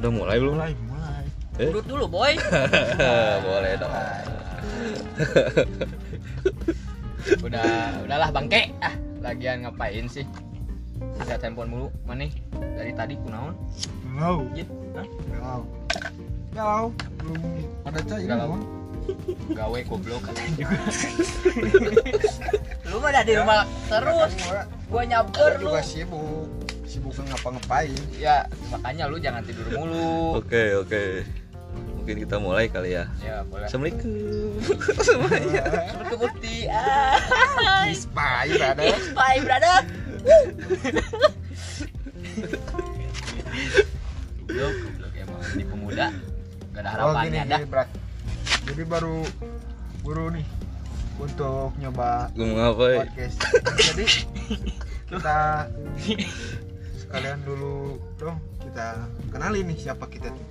Udah mulai belum? Mulai. Urut dulu, boy. Boleh dong. Udahlah bangke. Lagian ngapain sih? Lihat handphone mulu. Mana? Dari tadi kunaon? Galau. Jit. Hah? Galau. Belum ada cair Galau. naon. Gawe goblok katanya juga. Lu mah dah di rumah terus. Gua nyamper Gua lu. juga sibuk ngapa-ngapain. Ya, makanya lu jangan tidur mulu. Oke. Mungkin kita mulai kali ya. Ya, boleh. Assalamualaikum. Seperti bukti. Kispai ada. Bye, brother. Goblok emang di pemuda. Gak ada harapannya dah. Berat. Jadi baru nih untuk nyoba Gue mau ngapain? podcast. Jadi kita sekalian dulu dong kita kenalin nih siapa kita tuh.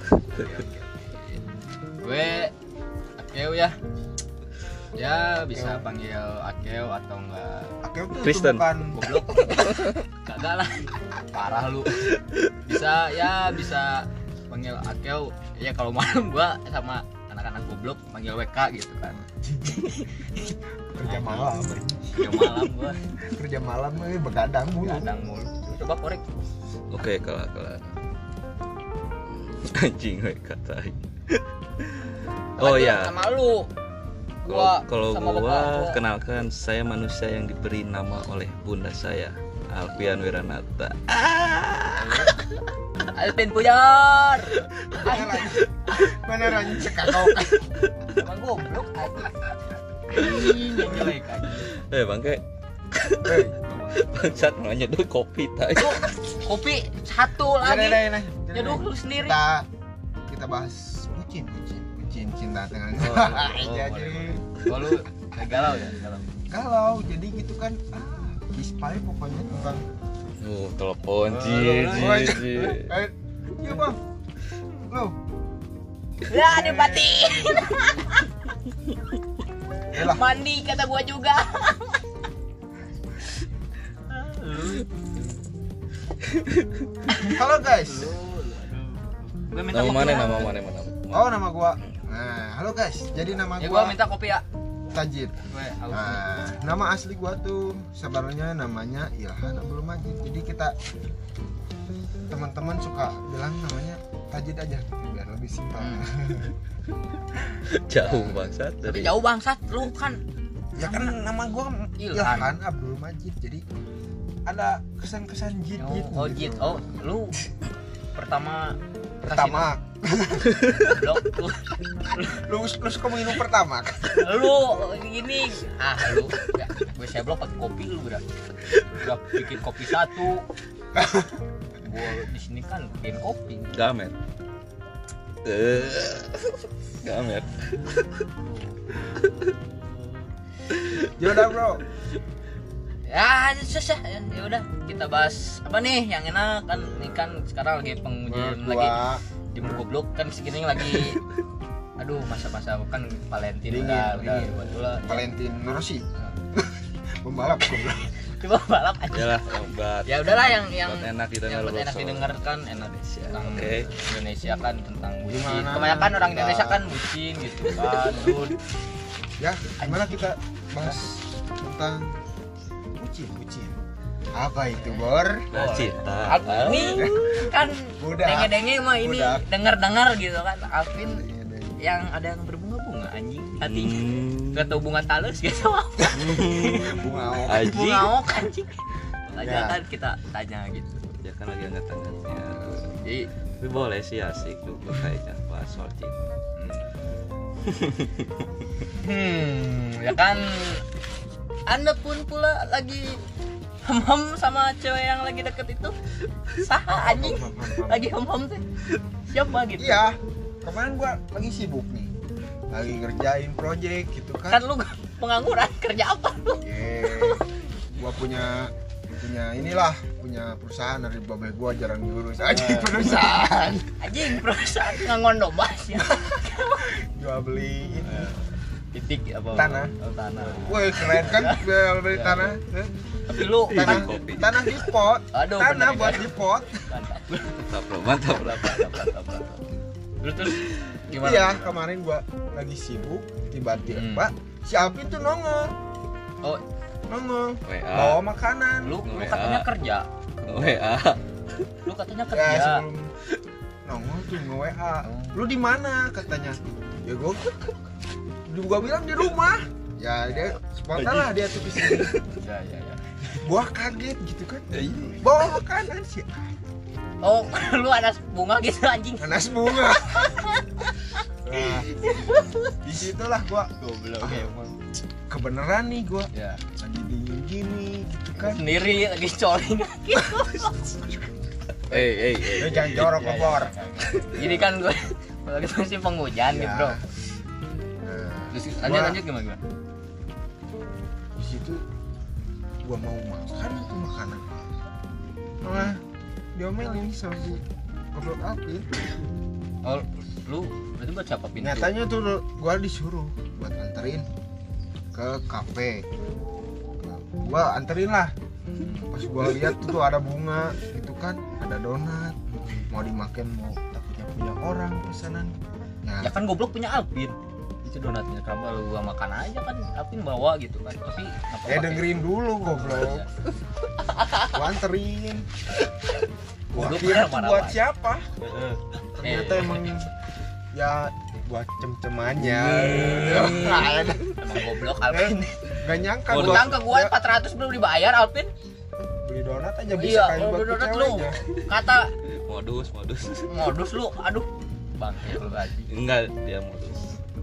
Gue Akeo ya. Ya bisa panggil Akeo atau enggak Akeo tuh Kristen. bukan goblok. Kagak lah. Parah lu. Bisa panggil Akeo. Ya kalau malam gua sama anak-anak goblok panggil WK gitu kan. kerja malam. Ya malam gua Kerja malam nih begadang mulu. kadang mulu. Coba korek. Oke, kalah. Anjing we katai. Oh Lanjut ya. Sama lu. Kalau sama bapak gua kenalkan, saya manusia yang diberi nama oleh bunda saya, Alfian Wiranata. Alvin Pujar. Beneran cekakau. Emang goblok aja. Ini jelek aja. Bangke. Hei, Bangsat nanya dulu kopi tai. Kopi satu lagi. nah. Nyeduh lu sendiri. Kita bahas bucin cinta dengan Iya, jadi Kalau galau ya, kalau jadi gitu kan kispai pokoknya tentang Telepon Iya bang lo Ya, dimatiin. Yalah. Mandi kata gua juga. halo guys. Gua minta Nama kopi. mana? Oh nama gua. Nah halo guys. Jadi nama Ya gua gua minta kopi ya. Tajid. Gue haus. Nah nama asli gua tuh sebenarnya namanya Ilhan Abdul Majid. Jadi kita teman-teman suka bilang namanya Tajid aja gitu, biar lebih simpel. Jauh bangsat Tapi dari jauh bangsat lu kan. Ya kan nama gua Ilhan. Ilhan Abdul Majid. Jadi ada kesan-kesan jid gitu. Oh, jit. Oh, lu pertama blok lu suka minum pertama lu gini lu ya, gue saya blok pakai kopi lu udah bikin kopi satu gue di sini kan bikin kopi gamer. Gamer. yaudah bro ya susah ya udah kita bahas apa nih yang enak kan ini kan sekarang lagi pengujian lagi di goblok kan segini lagi aduh masa-masa kan Valentine udah betul Valentine Rossi pembalap goblok coba balap aja Yalah, yang buat ya udahlah yang buat enak didengar yang buat enak bro. didengarkan enak tentang Oke. Indonesia kan tentang bucin Gimana? kebanyakan orang Indonesia kan bucin gitu kan dude. ya gimana kita bahas tentang bucin apa itu bor Cinta. Ini kan Udah. denge-denge mah ini Udah. dengar-dengar gitu kan Alvin yang ada yang berbunga-bunga anjing hatinya gak tau bunga talus gitu bunga Aji. bunga ok anjing makanya Ya. kan kita tanya gitu Ya kan lagi angkat-angkatnya. jadi Tapi boleh sih asik tuh kayaknya bahas soal cinta. ya kan anda pun pula lagi hem sama cewek yang lagi deket itu saha anjing lagi hem teh siapa gitu iya kemarin gua lagi sibuk nih lagi ngerjain project gitu kan kan lu pengangguran kerja apa lu gua punya perusahaan dari babe gua jarang diurus aja perusahaan anjing perusahaan ngangon domba ya jual beli titik apa Tanah. tanah woi keren kan jual beli tanah Tapi lu tanah kopi. tanah di pot. Aduh, Tanah bener, buat bener. di pot. Mantap. Mantap. Terus gimana? Iya, kemarin gua lagi sibuk, tiba-tiba si Alvin tuh nongol. Oh, WA. Bawa makanan. lu WA. katanya kerja. WA. Lu katanya Ya, kerja. sebelum nongol tuh nge-WA. Lu di mana katanya? Ya gua bilang di rumah. Ya dia spontan lah dia tuh di sini. Ya. Gua kaget gitu kan. Bawa makanan sih. Oh, lu ada bunga gitu anjing. Nanas bunga. Nah, disitulah gua Goblok emang. kebeneran nih gua Ya. lagi dingin gini gitu kan. Sendiri lagi coling. Jangan jorok Ya, kebor. Jadi kan gue lagi musim penghujan nih, Bro. Nah, Terus Gua- lanjut gimana? di situ gua mau makan itu makanan. Malah diomelin sama si goblok Alvin. Oh, lu berarti buat siapa pintu? Nyatanya tuh gua disuruh buat anterin ke kafe. Gua anterin lah. Pas gua lihat tuh ada bunga gitu kan, ada donat. Mau dimakan mau takutnya punya orang pesanan. Ya kan goblok punya Alvin. Itu donatnya kenapa lu gua makan aja kan Alvin bawa gitu kan. Tapi kenapa dengerin dulu goblok. Gua anterin. Gua Goblok kira kan tuh marah buat banget. siapa? Ternyata emang ya buat cem-cemannya. Emang goblok Alvin. Gak nyangka Oh, gua Utang ke gua 400 belum dibayar Alvin. beli donat aja bisa Iya, kayak kalau buat donat cewek lu aja. kata Modus. lu, aduh. Bang, lu anjing. Enggak, dia modus.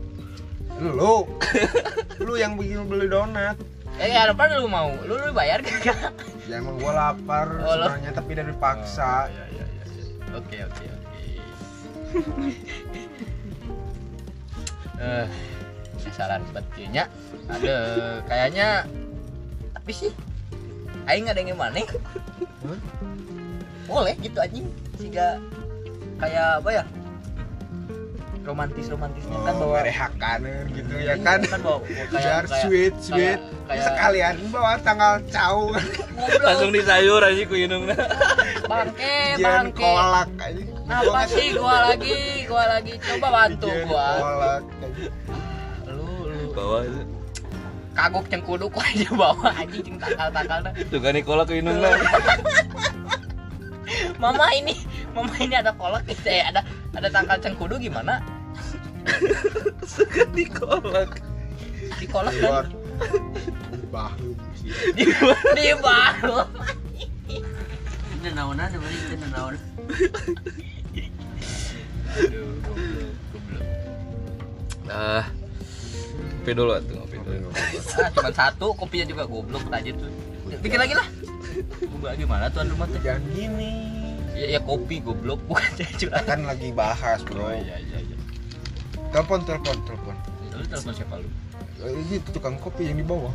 Lu yang bikin beli donat. Ya apa lu mau? Lu bayar kagak? Ya emang gua lapar Oh, lu- sebenarnya tapi dari paksa. Iya. Oke. Sasaran betulnya ada kayaknya tapi sih aing ada yang mana? Boleh gitu anjing. Siga kayak apa ya? Romantisnya kan bawa merehakan gitu ya kan. Kan bawa Biar sweet kayak sekalian bawa tanggal cau Langsung di sayur aja ku inungna. jian bangke. kolak aja. Apa sih gua lagi coba bantu Jian gua. kolak Lu Bawa itu. kagok cengkuduk aja bawa anjing ceng takal dah. Tuh kan Nikola ku inungna. Mama ini ada kolak gitu ya, ada tangkal cengkudu gimana? Di kolak. Di kolak keluar kan? bahu sih. Di baru. Itu naonan bari itu naon. Aduh, goblok. Kopi dulu atuh, ngopi dulu. Cuma satu, kopinya juga goblok aja tuh. Bikin lagi lah. Gua gimana tuan rumah tuh? Jangan gini. Ya kopi goblok bukan curhat. Kan lagi bahas, Bro. Iya. Telepon. Lu telepon siapa lu? Ini tukang kopi yang di bawah.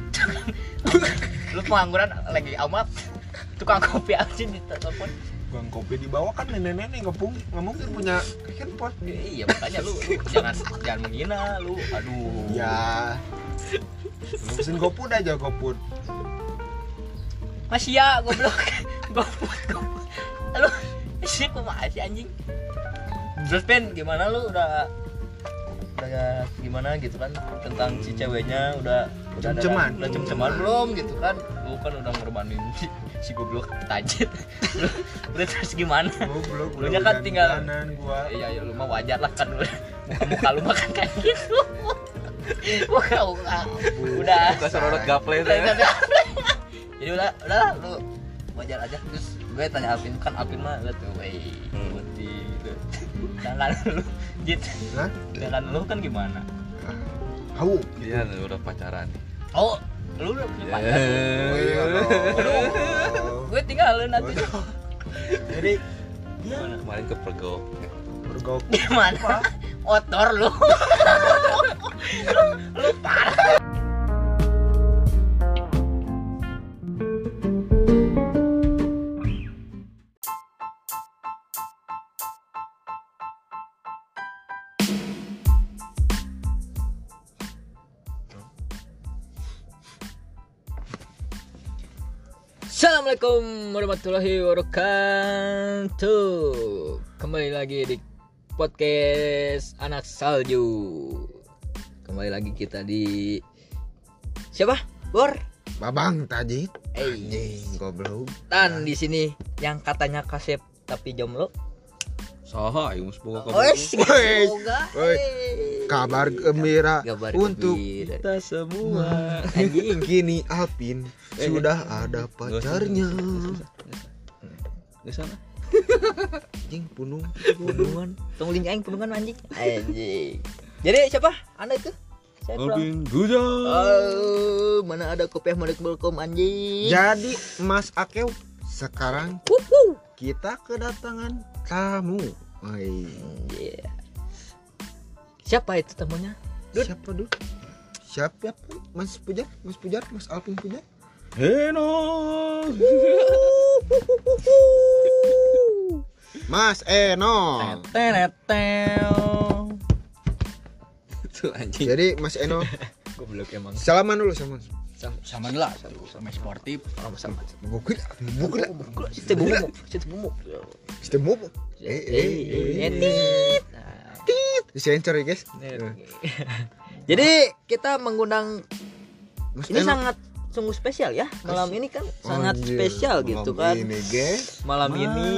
Lu pengangguran lagi amat. Tukang kopi aja di telepon. Tukang kopi di bawah kan nenek-nenek nggak mungkin punya handphone. Iya makanya lu jangan menghina lu. Aduh. Ya. Lu pesen GoFood aja GoFood. Masih ya goblok. Goblok. Lu sih kok masih anjing. Terus Pen gimana lu udah gimana gitu kan tentang si ceweknya udah Cem-ceman. udah cem-ceman belum gitu kan. Lu kan udah ngorbanin si goblok tajit. Udah terus gimana? Goblok. Lu nya kan tinggal kanan gua. Iya lu mah wajar lah kan muka lu makan kayak gitu. Muka udah Buka sorot gaple teh. jadi udah lu wajar aja. Terus gue tanya Alvin kan Alvin mah lihat tuh putih jangan lu jit Hah? jangan lu kan gimana Hau. Iya, udah pacaran nih. oh lu udah punya pacar Oh iya. gue tinggalin nanti Jadi gimana Kemarin ke Pergo. bergok. gimana otor lu lu parah. Assalamualaikum warahmatullahi wabarakatuh. Kembali lagi di podcast Anak Salju. Kembali lagi kita di siapa? Bor. Babang Tajid. Anjing, goblok. Tan di sini yang katanya kasep tapi jomblo. Saha aing semoga Wes, semoga. Kabar gembira Kabar untuk gembira. kita semua. Anjing. kini Alpin sudah ada pacarnya. Di sana. Anjing punung. Punungan. Tong link aing punungan anjing. Anjing. Jadi siapa? Anda itu? Saya pulang. Alvin Guja. Oh, mana ada kopiah mana belkom anjing. Jadi Mas Akeu sekarang Wuhu. kita kedatangan tamu. Woi. Yeah. Siapa itu tamunya? Dud. Siapa Dud? Siapa? Mas Pujar, Mas Alvin Pujar. Heno. Mas Eno. Tenetel. Tuh anjing. Jadi Mas Eno Goblok emang. salaman dulu sama. Sama lah, sama sportif. Sama. Bukul. Situ bumuk. Sistem mob. Etit. Disensor ya guys. Jadi kita mengundang Mas ini Eno. sangat sungguh spesial ya. Malam ini kan sangat Anjir, spesial gitu kan. Ini guys. Malam ini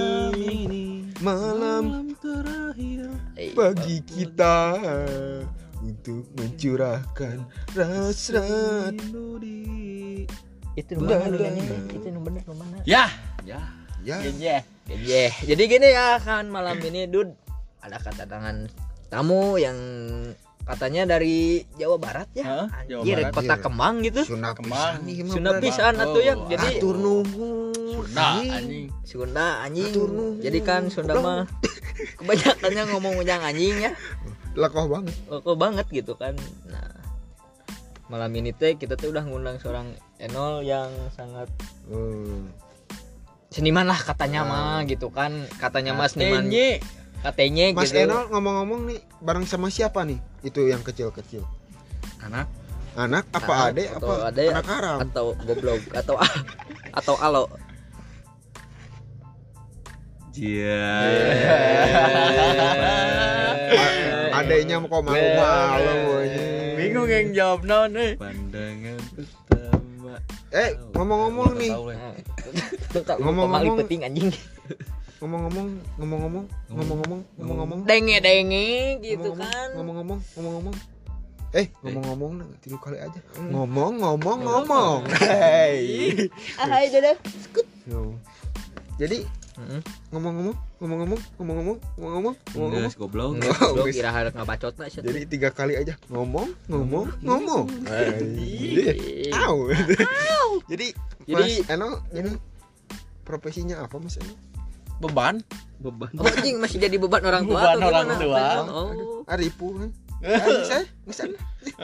Malam terakhir. bagi kita untuk mencurahkan hasrat. itu benar itu benar mana? Ya. Ya. Ya. Yeah. Jadi gini ya kan malam ini Dud ada kedatangan tamu yang katanya dari Jawa Barat ya. Hah? Jawa Anjir, Barat, kota iya. Kemang gitu. Sunda Kemang. pisan nih, Sunda Bang. pisan atuh ya. Oh, Jadi Atur nuhun. Nah, anjing. Sunda anjing. Atur nuhun. Jadi kan Sunda mah kebanyakannya ngomong ujang anjing ya. Lekoh banget. Kok banget gitu kan. Nah, malam ini teh kita tuh udah ngundang seorang Enol yang sangat seniman lah katanya mah gitu kan. Katanya mas seniman. Katanya Mas gitu. Enol ngomong-ngomong nih bareng sama siapa nih? Itu yang kecil-kecil. Anak. Anak apa Anak adek atau apa adek anak haram? atau goblok atau alo. Jia. Adeknya kok malu-malu aja. Bingung yang jawab non nih. Pandangan pertama. Ngomong-ngomong nih. Ngomong-ngomong. Peting anjing. Ngomong-ngomong. Denge gitu kan. Ngomong-ngomong. Ngomong-ngomong tilu kali aja. Ngomong. Hei. Hai dadah. Jadi ngomong-ngomong. Enggak goblok. Goblok kira harus ngabacot na shit. Jadi 3 kali aja. Ngomong. Au. Jadi Mas Eno ini profesinya apa Mas Eno? Beban. Beban. Oh, anjing masih jadi beban orang tua Beban atau orang gimana? tua. Oh. Aripu. Saya misalnya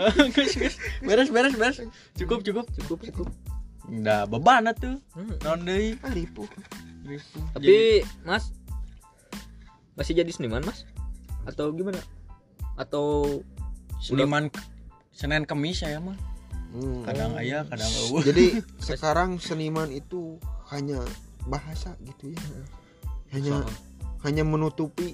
Beres. Cukup. Udah beban atuh. Non deui. Aripu. Tapi Mas masih jadi seniman Mas? Atau gimana? Atau Seniman Senin Kemis saya mah. Kadang aya, kadang eueuh. Jadi sekarang seniman itu hanya bahasa gitu ya. Hanya menutupi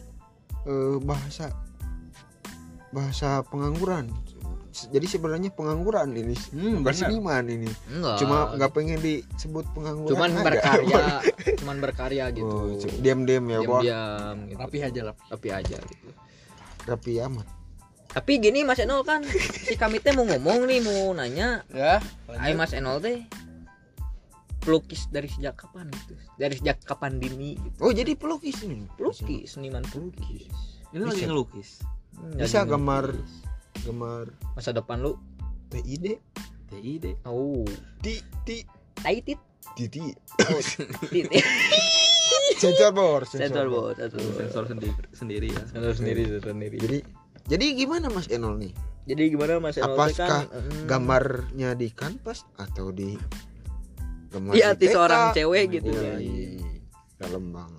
bahasa pengangguran. Jadi sebenarnya pengangguran ini bukan bener. seniman ini. enggak? Cuma nggak pengen disebut pengangguran. cuman berkarya gitu. Diam-diam ya, Bos. Diam gitu. Rapi aja lah. Tapi aja gitu. Rapi amat. Tapi gini Mas Enol kan si kami teh mau ngomong nih, mau nanya. Ya. Hai Mas Enol teh pelukis dari sejak kapan gitu? Dari sejak kapan dini gitu? Oh, jadi pelukis ini. Pelukis, seniman pelukis. Ini lagi Bisa. ngelukis. Bisa Jadi gambar pelukis. Masa depan lu. TID. TID. Oh, Ti taitit. Titi. Oh, titit. Sensor bor. Sensor bot, Sensor sendiri ya. Sensor sendiri. Jadi gimana Mas Enol nih? Jadi gimana Mas Enol teh Apakah kan gambarnya di kanvas atau di gambar di hati peta? seorang cewek gitu Iya, ya. iya. Dalam banget.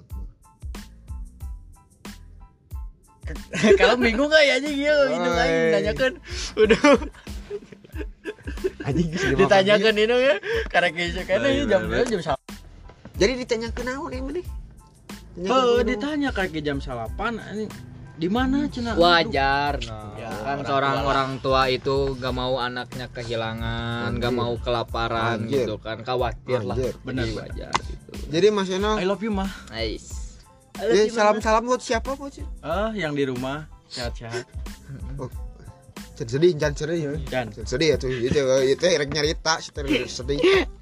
Kalau bingung gak ya anjing ya itu aing nanyakeun. Udah Anjing geus 5 ditanyakeun itu ya. Karek geus kan Baik, jam baik. jam Jadi ditanya ke naon ini nih? Ditanya kayak jam 8 ini di mana cenah? Wajar Ya, kan orang seorang tua orang tua itu gak mau anaknya kehilangan, gak Anjir. mau kelaparan Anjir. gitu kan, khawatir lah. Anjir. Benar, Jadi benar. wajar gitu. Jadi Mas Eno, I love you mah. Nice. ya salam-salam buat siapa buat sih? Yang di rumah sehat-sehat. Sedih, jangan sedih ya. Dan Sedih ya tuh, itu rek nyarita, sedih.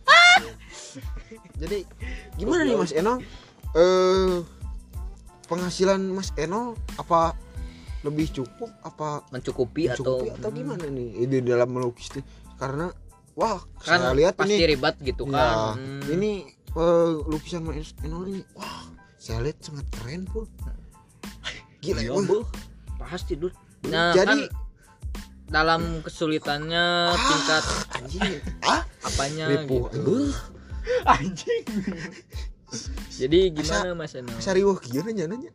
Jadi gimana nih Mas Eno? Penghasilan Mas Eno apa lebih cukup apa Mencukupi mencukupi atau gimana nih ini dalam melukis nih? Karena wah, kan saya lihat pasti ini ribet gitu ya, kan. ini lukisan Mas Eno ini wah, saya lihat sangat keren pun. Gila, Iya, wah. Bu. Pasti dulu. Nah, Jadi kan dalam kesulitannya tingkat anjing, apanya ripuh. gitu. anjing. Jadi gimana Mas Eno? Sariwah kieu nanya.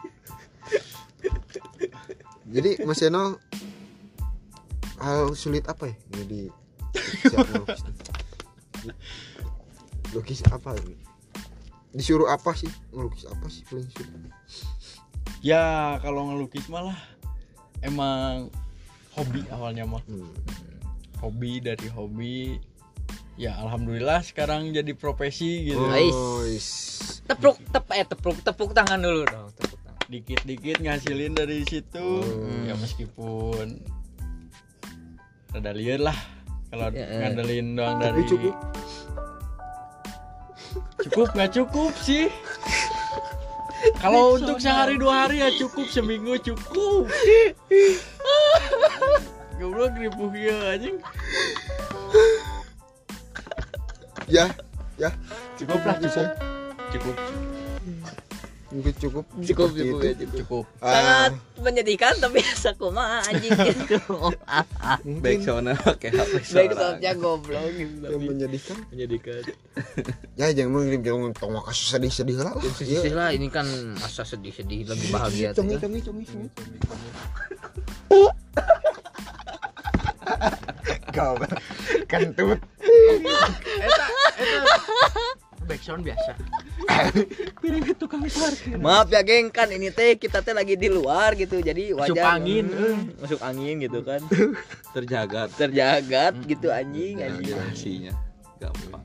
Jadi Mas Eno hal sulit apa ya ini di siap melukis? Lukis apa ini? Disuruh apa sih? Ngelukis apa sih paling sulit? Ya kalau ngelukis malah emang hobi awalnya mah. Hobi dari hobi. Ya alhamdulillah sekarang jadi profesi gitu. Nice. Is. Tepuk tangan dulu dong, tepuk tangan. Dikit-dikit ngasilin dari situ. Ya meskipun rada liar lah kalau Ya, ngandelin doang Tapi dari cukup nggak cukup sih. Kalau untuk sehari 2 hari ya cukup, seminggu cukup. Goblok ripuh ya anjing. Ya, Cukup lah cukup. Cukup. mungkin cukup. Cukup seperti ya, itu. Cukup. Sangat menyedihkan tapi asa kumaha anjing gitu. Mungkin Backsound pakai HP Baik seorang. soalnya goblok gitu. yang menyedihkan. Menyedihkan. Ya jangan mengirim jangan tong kasus sedih-sedih lah. Sedih lah ini kan masa sedih-sedih lagi bahagia tuh. Congi. Kau kentut. Eta backsound biasa. Piring itu kami parkir. Maaf ya geng, kan ini teh kita teh lagi di luar gitu. Jadi wajar. Masuk angin, Masuk angin gitu kan. Terjaga Terjagat gitu anjing. navigasinya gampang.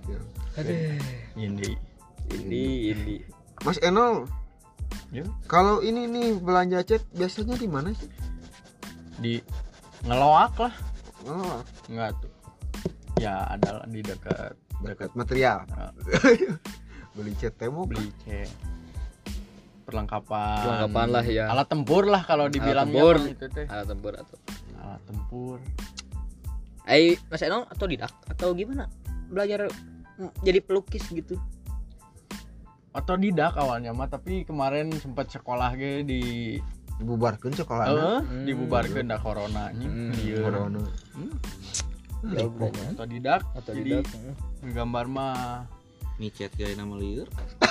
Ini. Mas Eno, Ya. kalau ini nih belanja cat biasanya di mana sih? Di ngeloak lah. Oh, Enggak tuh. Ya ada di dekat dekat material. Nah. Beli cat temo beli cat. Perlengkapan. Perlengkapan lah ya. Alat tempur lah kalau dibilang tempur. itu teh. Alat tempur atau Alat tempur. Mas Eno atau didak atau gimana? Belajar jadi pelukis gitu. Otodidak awalnya mah, tapi kemarin sempat sekolah ge di dibubarkan sekolahnya. dibubarkeun da corona anjing. Ieu. Corona. Ya udah. Otodidak. Atau Jadi didak. ngegambar mah Micet gaya nama liur.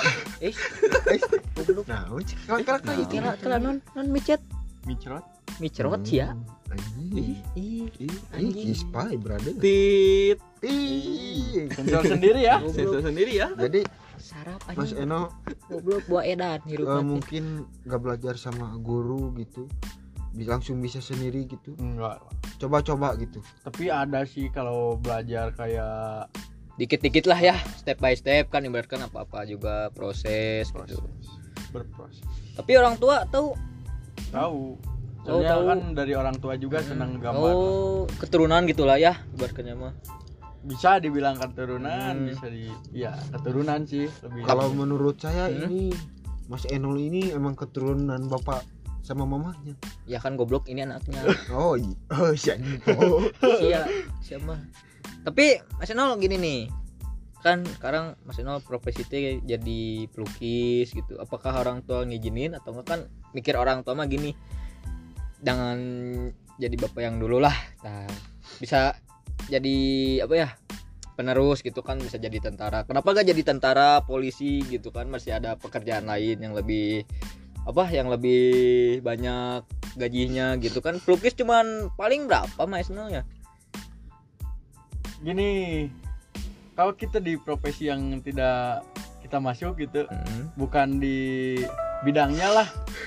Goblok. Nah, kayak Kira non micet. microt. Microt ya. Anjing. Anjing. Spy brother. Tit. Ih. Sensor sendiri ya. Sensor sendiri ya. Jadi Sarap Mas anjing. Eno Goblok buah edan hirupna teh. mungkin nggak belajar sama guru gitu, langsung bisa sendiri gitu. Enggak. Coba-coba gitu. Tapi ada sih kalau belajar kayak Dikit-dikit lah ya, step by step kan ibaratkan apa-apa juga proses gitu. berproses. Tapi orang tua tahu Tahu. Soalnya tahu. kan dari orang tua juga senang gambar. keturunan gitulah ya ibaratkannya mah. Bisa dibilang keturunan, bisa ya keturunan sih lebih. Kalau menurut saya ini Mas Enol ini emang keturunan bapak sama mamanya. Ya kan goblok ini anaknya. Oh iya. Oh iya. Siapa? Tapi Mas Enol gini nih. Kan sekarang Mas Enol profesi teh jadi pelukis gitu. Apakah orang tua ngizinin atau enggak, kan mikir orang tua mah gini. Jangan jadi bapak yang dulu lah. Nah, bisa jadi apa ya? Penerus gitu kan, bisa jadi tentara. Kenapa gak jadi tentara, polisi gitu kan, masih ada pekerjaan lain yang lebih yang lebih banyak gajinya gitu kan. Pelukis cuman paling berapa Mas Enol ya? Gini, kalau kita di profesi yang tidak kita kita masuk gitu, Mm. bukan di bidangnya lah,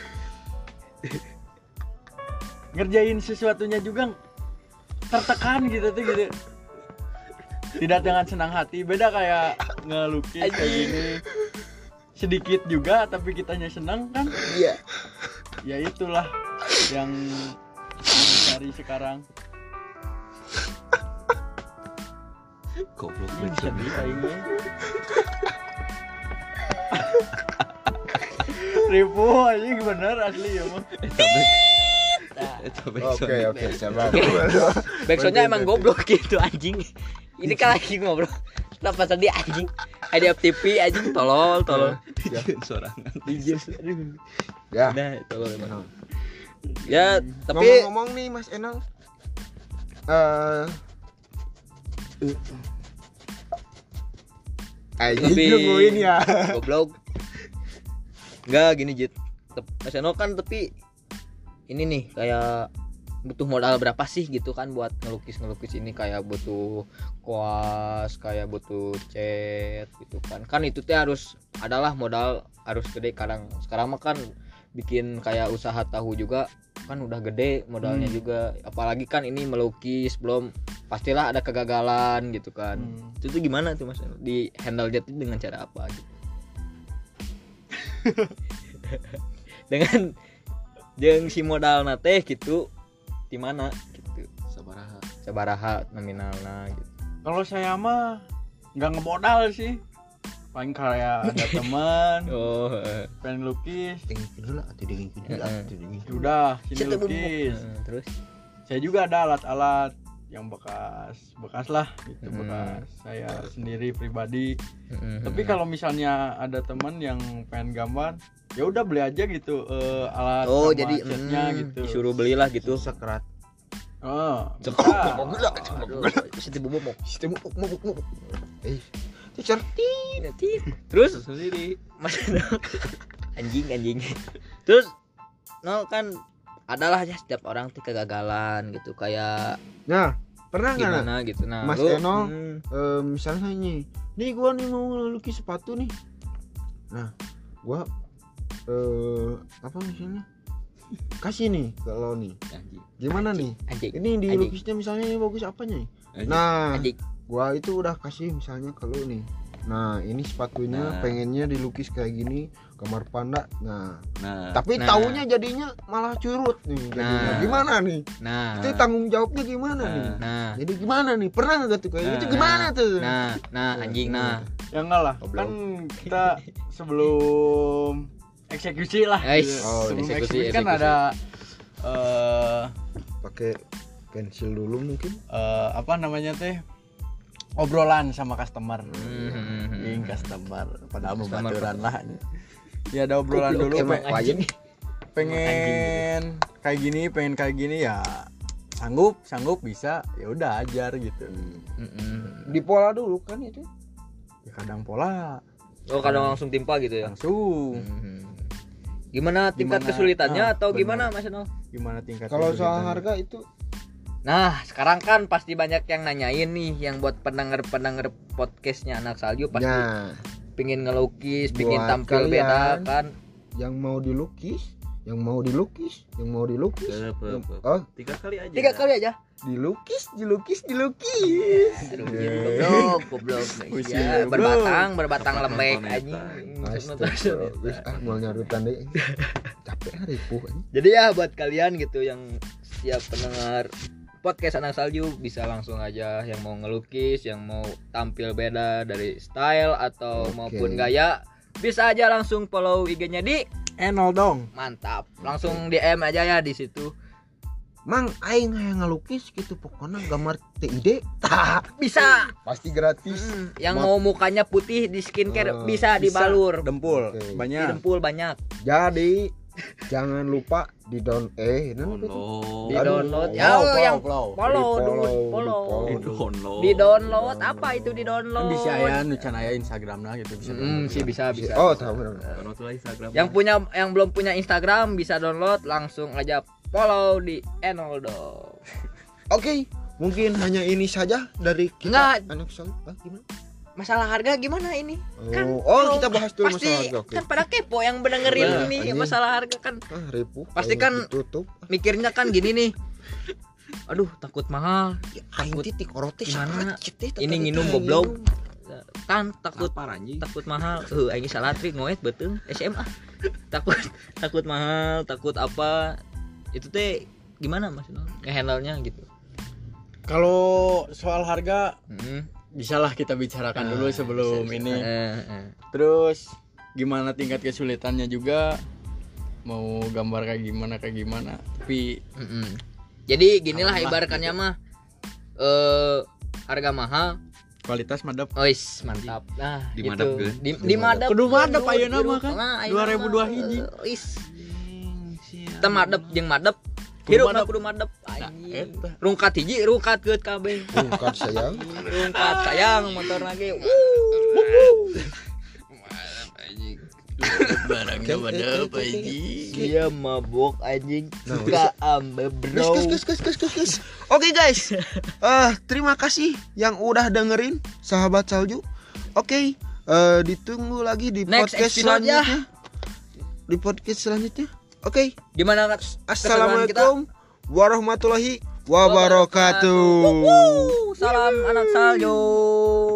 ngerjain sesuatunya juga tertekan gitu tuh gitu, tidak dengan senang hati. Beda kayak ngelukis kayak gini, sedikit juga tapi kitanya senang kan. Iya. Ya itulah yang dicari sekarang. Goblok Ini bisa backsound. aingnya. Ribu aja bener asli ya mah. Eta backsound. Oke, sabar. Backsoundnya emang goblok gitu anjing. Ini kan lagi ngobrol. Kenapa tadi anjing? Ada FTP anjing tolol. Izin sorangan. Izin. Ya. Nah, tolol emang. Ya, tapi Ngomong-ngomong nih Mas Enal, Lebih- nungguin ya. goblok. Enggak gini Jit. Mas Eno kan tapi ini nih kayak butuh modal berapa sih gitu kan buat ngelukis ini, kayak butuh kuas, kayak butuh cat gitu kan. Kan itu teh harus adalah modal harus gede. Sekarang mah kan bikin kayak usaha tahu juga kan udah gede modalnya juga. Apalagi kan ini melukis belum pastilah ada kegagalan gitu kan. Itu tuh gimana tuh Mas Eno? Di handle jet dengan cara apa gitu? Dengan jeung si modal nate gitu di mana gitu sabaraha nominalna gitu. Kalau saya mah nggak ngemodal sih, paling kayak ada teman Oh, pengen lukis, Dingin atau dingin udah sini Situ bubuk. lukis. Terus Saya juga ada alat-alat yang bekas lah gitu, Hmm. bekas saya sendiri pribadi. mm, Tapi kalau misalnya ada teman yang pengen gambar, ya udah beli aja gitu alat oh sama jadi catnya gitu. disuruh belilah gitu. Sekerat. Oh, Cek. bisa. Aduh, situ bubuk. Sistem muk. Teacher. Terus Sendiri. Mas anjing. Terus no kan adalah ya setiap orang tuh kegagalan gitu, kayak Nah, pernah nggak gimana gitu. Nah, Mas lu, Eno, misalnya nih gua nih mau lukis sepatu nih. Nah, gua apa misalnya kasih nih kalau nih Anjing. gimana nih anjing. ini dilukisnya misalnya ini bagus apanya nih. Anjing. Nah, Anjing. gua itu udah kasih misalnya kalau nih, nah ini sepatunya Nah. pengennya dilukis kayak gini kamar panda. Nah, Nah, tapi Nah. taunya jadinya malah curut nih jadinya. Nah. Gimana nih Nah, itu tanggung jawabnya gimana Nah. nih, nah, jadi gimana nih, pernah nggak tuh kayak gitu, Nah. gimana tuh? nah anjing. Nah, Ya enggak lah, Goblok. kan kita sebelum eksekusi lah. Guys, gitu. oh, Sebelum eksekusi. kan ada Pakai pensil dulu mungkin. apa namanya teh, obrolan sama customer. Hmm. Ing customer padahal mau Customer. baturan lah. Ya ada obrolan Goblok dulu emang anjing. pengen kayak gini ya sanggup bisa, ya udah ajar gitu. Di pola dulu kan itu. Ya kadang pola Oh, kadang langsung timpa gitu ya. langsung. Gimana tingkat Gimana? kesulitannya Ah, atau benar. gimana Mas Eno? Gimana tingkat Kalau soal kesulitannya? harga itu Nah, sekarang kan pasti banyak yang nanyain nih, yang buat pendengar podcastnya Anak Salju pasti ya, pingin ngelukis, pingin Buat tampil kalian. beda kan. yang mau dilukis. Ke, Oh, 3 kali aja. 3 kali aja. dilukis. Aduh, goblok. Pusing, Ya, goblok. berbatang Tempat lembek nonton anjing. Astaga, wis mau nyarutan deh. Capek ripuh anjing. Jadi ya buat kalian gitu yang setiap pendengar podcast Anak Salju bisa langsung aja yang mau ngelukis, yang mau tampil beda dari style atau Oke. maupun gaya, bisa aja langsung follow IG-nya di Enol dong. mantap. Langsung DM aja ya di situ. Mang aing hayang ngalukis gitu pokoknya gambar TID Bisa. pasti gratis. Yang Ma- mau mukanya putih di skincare bisa Bisa. dibalur. Dempul Oke. Di banyak. dempul banyak. Jadi jangan lupa di Download. Di download. Wow, Ya wow, yang wow. follow dulu, Di follow. Download. Di download apa itu di download? Kan bisa ya nucan aya Instagramnya gitu bisa. sih bisa. Oh, tahu benar. Download lah Instagram. Yang belum punya Instagram bisa download, langsung aja follow di Enoldo. Oke, mungkin hanya ini saja dari kita. Enggak. Anak Salju. Gimana? masalah harga gimana ini? Kan kita bahas dulu pasti masalah harga. Oke. kan pada kepo yang mendengerin Nah, ini anjing. masalah harga kan. Ribu. Pasti kan tutup. mikirnya kan gini nih. Aduh, takut mahal. Aing titik orote Gimana? Ini nginum goblok. Kan takut anjing. takut mahal. Aing salah trik ngoet beuteung SMA. Takut mahal, takut apa. Itu teh gimana Mas? Nge-handle-nya gitu. Kalau soal harga Heeh. bisalah kita bicarakan dulu sebelum bisa. ini. Terus gimana tingkat kesulitannya juga, mau gambar kayak gimana. Tapi Jadi ginilah ibaratkannya mah harga mahal, kualitas madep. ois mantap. Nah, Di gitu. madep, Gun. Di madep. Kudu madep Gun, ayeuna hirup. mah kan. Nah, ayeuna 2002 mah, hiji. Ois. Teu madep jeung madep. Kudu Hirup madep. kudu madep. Nah, Anjing. eta. Rungkat hiji, rungkat keut kabeh. Bukan sayang. Rungkat sayang motor lagi. Barangnya madep anjing. Dia mabok anjing. Nah, Suka ambe bro. Gus. Oke guys. Terima kasih yang udah dengerin sahabat salju. Oke, ditunggu lagi di Next podcast episode ya. selanjutnya. Di podcast selanjutnya. Oke. Gimana keseruan kita? Assalamualaikum warahmatullahi wabarakatuh. Salam anak salju.